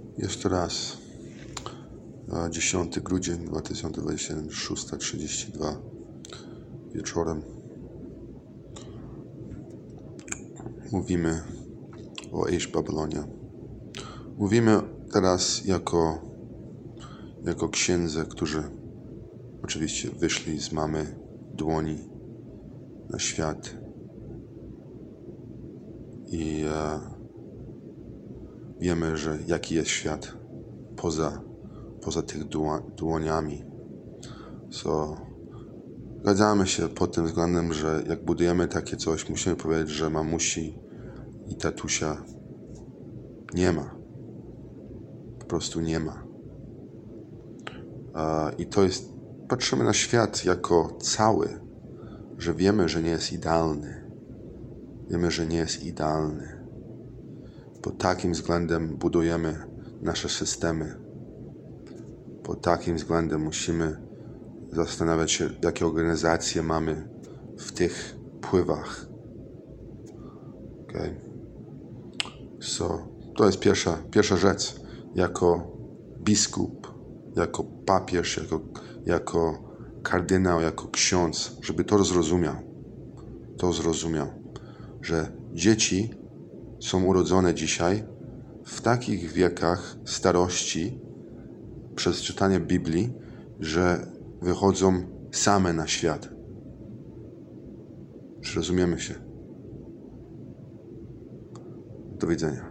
Jeszcze raz. 10 grudzień 2021, 6:32 wieczorem. Mówimy o Aish Babylonia. Mówimy teraz jako księdze, którzy oczywiście wyszli z mamy dłoni na świat i wiemy, że jaki jest świat poza tych dłoniami. Zgadzamy się pod tym względem, że jak budujemy takie coś, musimy powiedzieć, że mamusi i tatusia nie ma. Po prostu nie ma. I to jest, patrzymy na świat jako cały, że wiemy, że nie jest idealny. Wiemy, że nie jest idealny. Pod takim względem budujemy nasze systemy. Pod takim względem musimy zastanawiać się, jakie organizacje mamy w tych pływach. Okay? To jest pierwsza rzecz. Jako biskup, jako papież, jako kardynał, jako ksiądz, żeby to zrozumiał, że dzieci są urodzone dzisiaj w takich wiekach starości przez czytanie Biblii, że wychodzą same na świat. Czy rozumiemy się? Do widzenia.